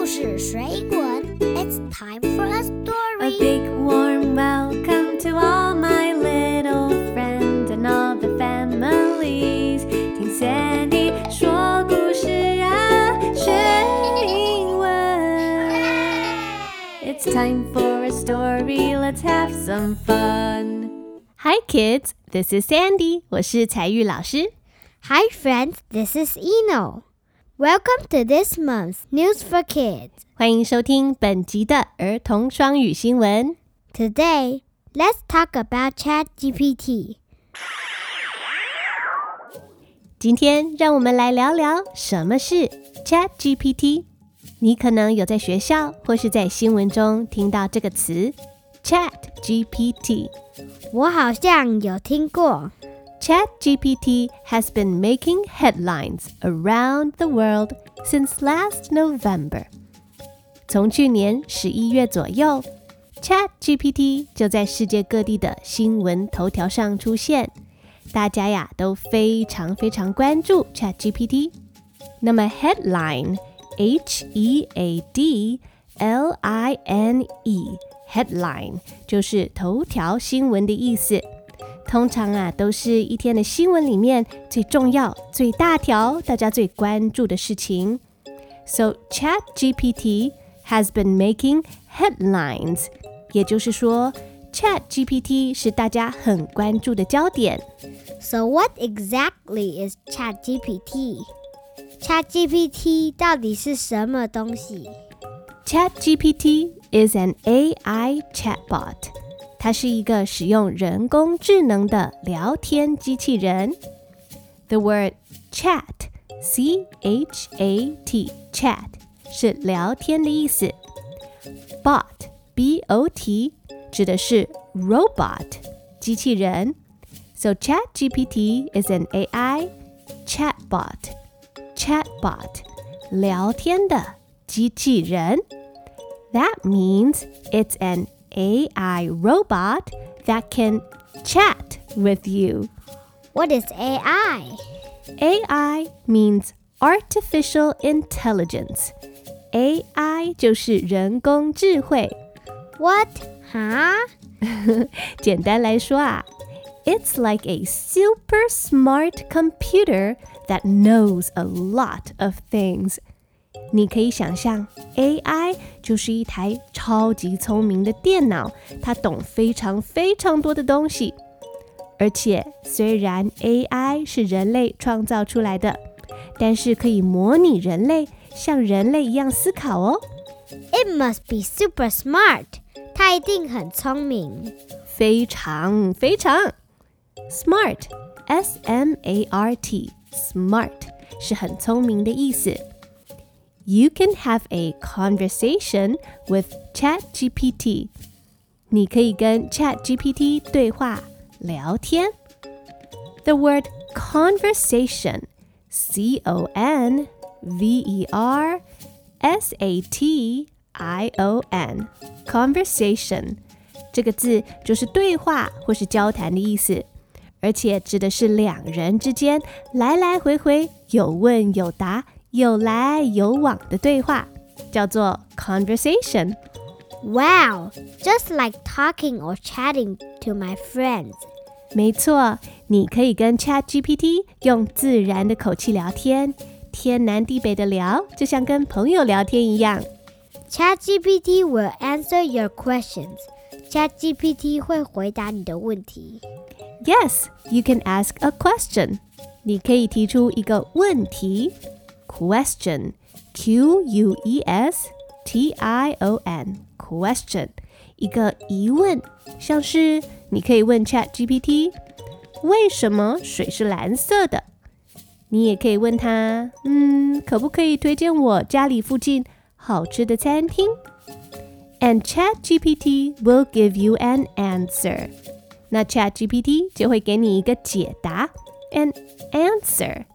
故事水滾 It's time for a story. A big warm welcome to all my little friends and all the families. 聽 Sandy 說故事啊，學英文。It's time for a story. Let's have some fun. Hi kids, this is Sandy. 我是采玉老師。 Hi friends, this is Eno.Welcome to this month's News for Kids. 歡迎收聽本集的兒童雙語新聞。 Today, let's talk about ChatGPT. 今天讓我們來聊聊什麼是 ChatGPT。你可能有在學校或是在新聞中聽到這個詞 ChatGPT。 我好像有聽過。 ChatGPT has been making headlines around the world since last November. 從去年11月左右 ，ChatGPT 就在世界各地的新聞頭條上出現，大家呀都非常非常關注 ChatGPT。那麼 headline H-E-A-D-L-I-N-E headline 就是頭條新聞的意思。通常啊，都是一天的新聞裡面最重要、最大條、大家最關注的事情。So ChatGPT has been making headlines， 也就是說 ChatGPT 是大家很關注的焦點。 So what exactly is ChatGPT? ChatGPT 到底是什麼東西？ ChatGPT is an AI chatbot。它是一個使用人工智能的聊天機器人。The word chat, C-H-A-T, chat 是聊天的意思。Bot, B-O-T 指的是 robot 機器人。So ChatGPT is an AI chatbot. Chatbot 聊天的機器人。That means it's an AI robot that can chat with you. What is AI? AI means artificial intelligence. AI 就是人工智慧。 What? Huh? 簡單來說啊， It's like a super smart computer that knows a lot of things.你可以想象 AI 就是一台超級聰明的電腦，它懂非常非常多的東西。而且雖然 AI 是人類創造出來的，但是可以模擬人類，像人類一樣思考哦。 It must be super smart. 它一定很聰明。 非常非常 Smart, S-M-A-R-T, Smart 是很聰明的意思。You can have a conversation with ChatGPT. 你可以跟 ChatGPT 對話聊天。The word conversation, C-O-N-V-E-R-S-A-T-I-O-N, conversation 這個字就是對話或是交談的意思，而且指的是兩人之間來來回回有問有答有來有往的對話，叫做 conversation. Wow, just like talking or chatting to my friends. 沒錯，你可以跟 ChatGPT 用自然的口氣聊天，天南地北的聊，就像跟朋友聊天一樣。 ChatGPT will answer your questions. ChatGPT 會回答你的問題。 Yes, you can ask a question. 你可以提出一個問題。Question, Q-U-E-S-T-I-O-N, question, 一個疑問，像是你可以問 ChatGPT 為什麼水是藍色的？你也可以問他，可不可以推薦我家裡附近好吃的餐廳？ And ChatGPT will give you an answer. 那 ChatGPT 就會給你一個解答 an answer.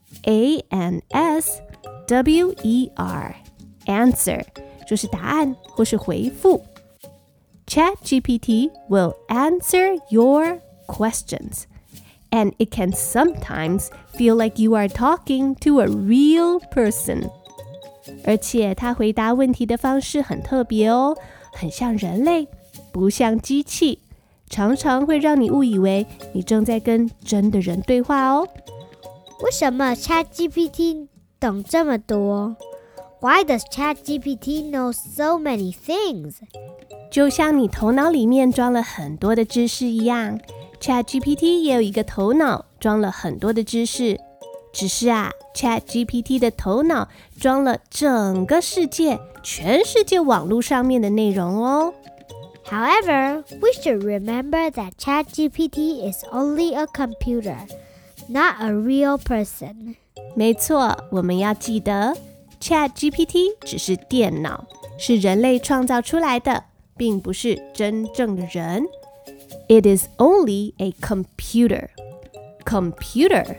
A-N-S-W-E-R Answer 就是答案或是回復。ChatGPT will answer your questions, and it can sometimes feel like you are talking to a real person. 而且它回答問題的方式很特別哦，很像人類，不像機器，常常會讓你誤以為你正在跟真的人對話哦。 為什麼 ChatGPT 懂這麼多？ Why does ChatGPT know so many things? 就像你頭腦裡面裝了很多的知識一樣， ChatGPT 也有一個頭腦，裝了很多的知識。只是啊， ChatGPT 的頭腦裝了整個世界，全世界網絡上面的內容哦。 However, we should remember that ChatGPT is only a computer, not a real person. 沒錯，我們要記得 ChatGPT 只是電腦，是人類創造出來的，並不是真正的人。It is only a computer. Computer,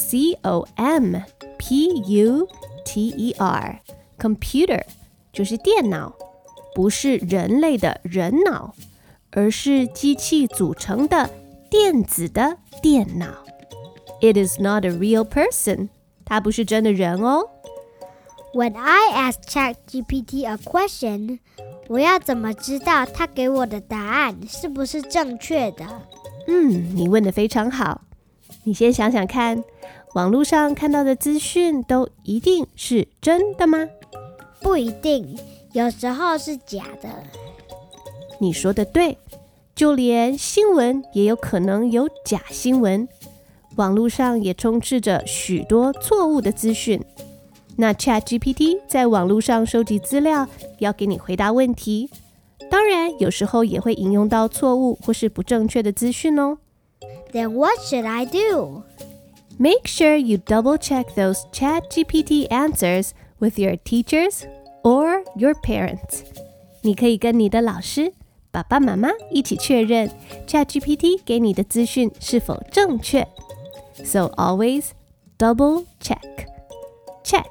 C-O-M-P-U-T-E-R. Computer 就是電腦，不是人類的人腦，而是機器組成的電子的電腦。It is not a real person. 它不是真的人哦。 When I ask ChatGPT a question, 我要怎麼知道它給我的答案是不是正確的？ 你問得非常好。你先想想看，網絡上看到的資訊都一定是真的嗎？ 不一定，有時候是假的。 你說的對，就連新聞也有可能有假新聞。網絡上也充斥着許多錯誤的資訊。那 ChatGPT 在網絡上收集資料，要給你回答問題。當然，有時候也會引用到錯誤或是不正確的資訊哦。 Then what should I do? Make sure you double-check those ChatGPT answers with your teachers or your parents. 你可以跟你的老師、爸爸媽媽一起確認 ChatGPT 給你的資訊是否正確。So always double check. Check,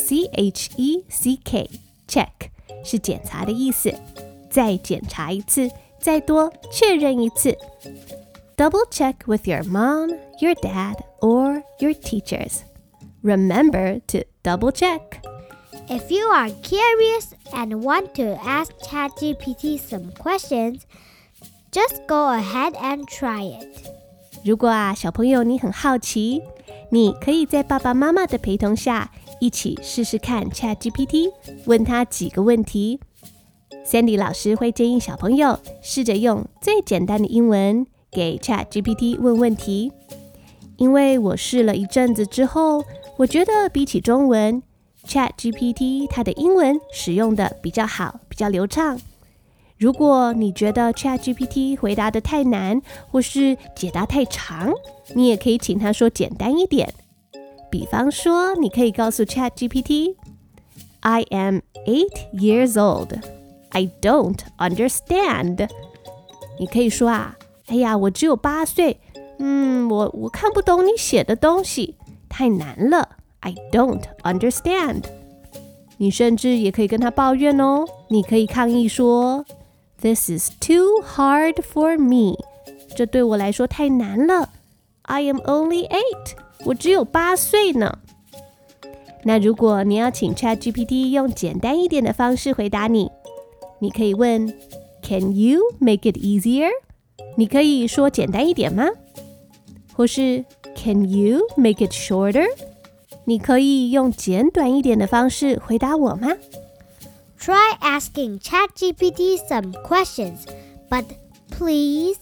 C-H-E-C-K, check 是檢查的意思。再檢查一次，再多確認一次。Double check with your mom, your dad, or your teachers. Remember to double check. If you are curious and want to ask ChatGPT some questions, just go ahead and try it. 如果小朋友你很好奇，你可以在爸爸媽媽的陪同下一起試試看 ChatGPT， 問他幾個問題。Sandy 老師會建議小朋友試着用最簡單的英文給 ChatGPT 問問題。因為我試了一陣子之後，我覺得比起中文， ChatGPT 它的英文使用的比較好，比較流暢。如果你覺得 ChatGPT 回答得太難，或是解答太長，你也可以請他說簡單一點。比方說，你可以告訴 ChatGPT, I am 8 years old. I don't understand. 你可以說哎呀，我只有8歲，我看不懂你寫的東西，太難了。I don't understand. 你甚至也可以跟他抱怨哦，你可以抗議說This is too hard for me. 這對我來說太難了。I am only 8. 我只有8歲呢。那如果你要請 ChatGPT 用簡單一點的方式回答你，你可以問 Can you make it easier? 你可以說簡單一點嗎？或是 Can you make it shorter? 你可以用簡短一點的方式回答我嗎 ？Try asking ChatGPT some questions, but please,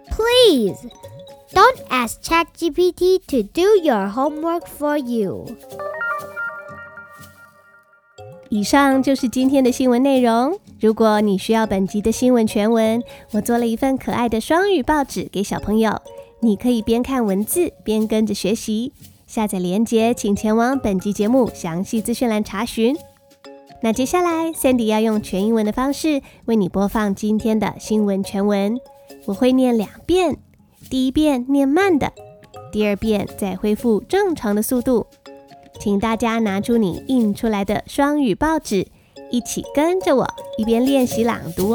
don't ask ChatGPT to do your homework for you. 以上就是今天的新聞內容。如果你需要本集的新聞全文，我做了一份可愛的雙語報紙給小朋友，你可以邊看文字邊跟着學習。下載連結請前往本集節目詳細資訊欄查詢。那接下來 Sandy 要用全英文的方式為你播放今天的新聞全文。我會念2遍，第一遍念慢的，第二遍再恢復正常的速度。請大家拿出你印出來的雙語報紙，一起跟着我一邊練習朗讀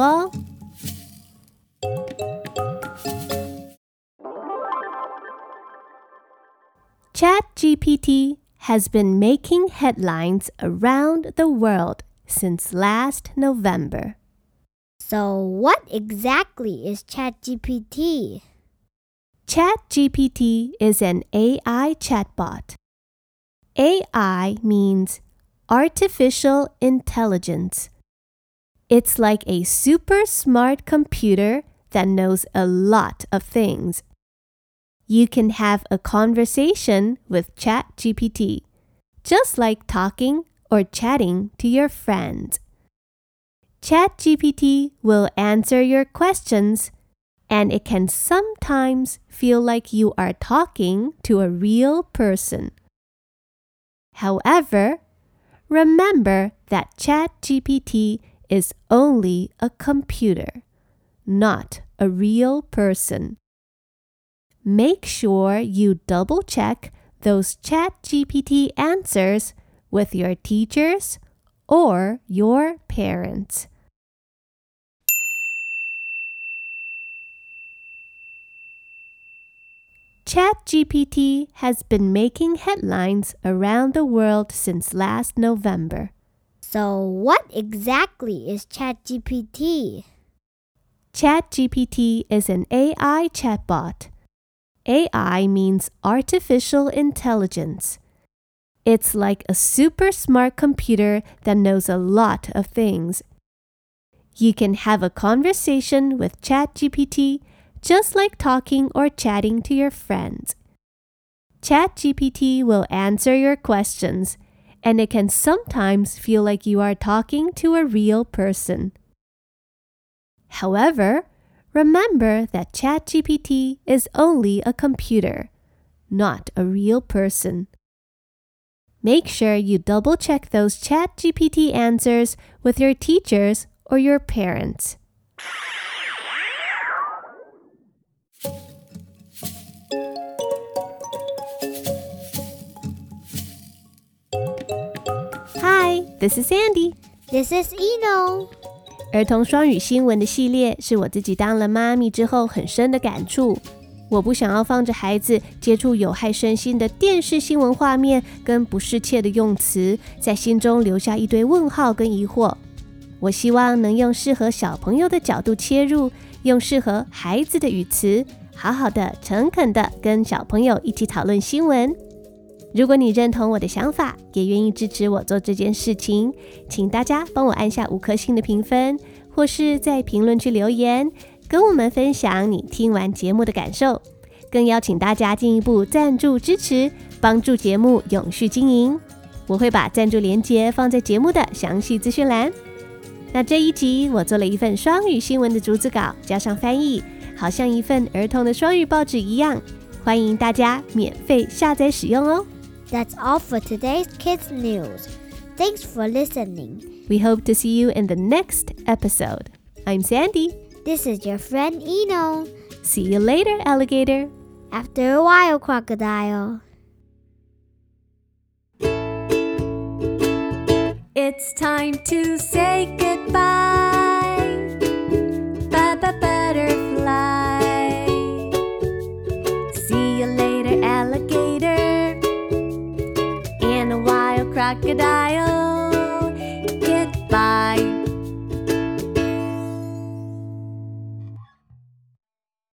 哦。ChatGPT has been making headlines around the world since last November. So what exactly is ChatGPT? ChatGPT is an AI chatbot. AI means artificial intelligence. It's like a super smart computer that knows a lot of things. You can have a conversation with ChatGPT, just like talking or chatting to your friends. ChatGPT will answer your questions, and it can sometimes feel like you are talking to a real person. However, remember that ChatGPT is only a computer, not a real person. Make sure you double-check those ChatGPT answers with your teachers or your parents. ChatGPT has been making headlines around the world since last November. So what exactly is ChatGPT? ChatGPT is an AI chatbot. AI means artificial intelligence. It's like a super smart computer that knows a lot of things. You can have a conversation with ChatGPT just like talking or chatting to your friends. ChatGPT will answer your questions, and it can sometimes feel like you are talking to a real person. However, remember that ChatGPT is only a computer, not a real person. Make sure you double-check those ChatGPT answers with your teachers or your parents. Hi, this is Sandy. This is Eno. 兒童雙語新聞的系列是我自己當了媽咪之後很深的感觸。我不想要放着孩子接觸有害身心的電視新聞畫面跟不適切的用詞，在心中留下一堆問號跟疑惑。我希望能用適合小朋友的角度切入，用適合孩子的語詞，好好的、誠懇的跟小朋友一起討論新聞。如果你認同我的想法，也願意支持我做這件事情，請大家幫我按下5顆星的評分，或是在評論區留言，跟我們分享你聽完節目的感受。更邀請大家進一步贊助支持，幫助節目永續經營。我會把贊助連結放在節目的詳細資訊欄。那這一集我做了一份雙語新聞的逐字稿，加上翻譯，好像一份兒童的雙語報紙一樣，歡迎大家免費下載使用哦。 That's all for today's Kids News. Thanks for listening. We hope to see you in the next episode. I'm Sandy. This is your friend Eno. See you later, alligator. After a while, crocodile. It's time to say goodbye. Bye-bye, butterfly. See you later, alligator. And a wild crocodile.